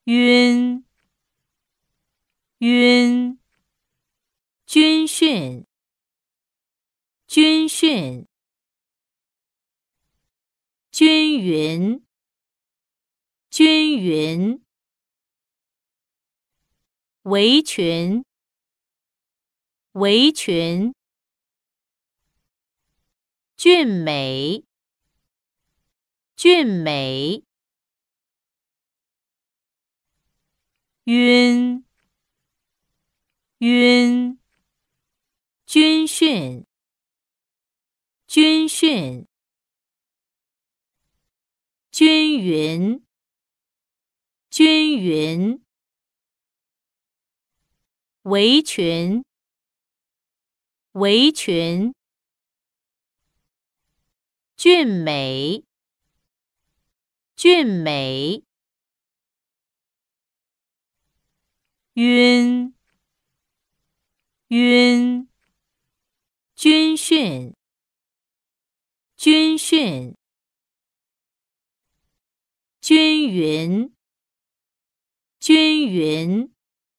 晕，晕，军训，军训，均匀，均匀，围裙，围裙，俊美，俊美，晕，晕，军训，军训，均匀，均匀，围裙，围裙，俊美，俊美，晕，晕，军训，军训，均匀，均匀，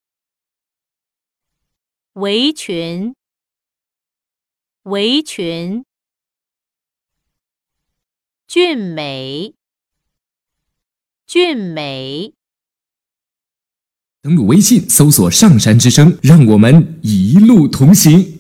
围裙，围裙，俊美，俊美。 登录微信搜索上山之声，让我们一路同行。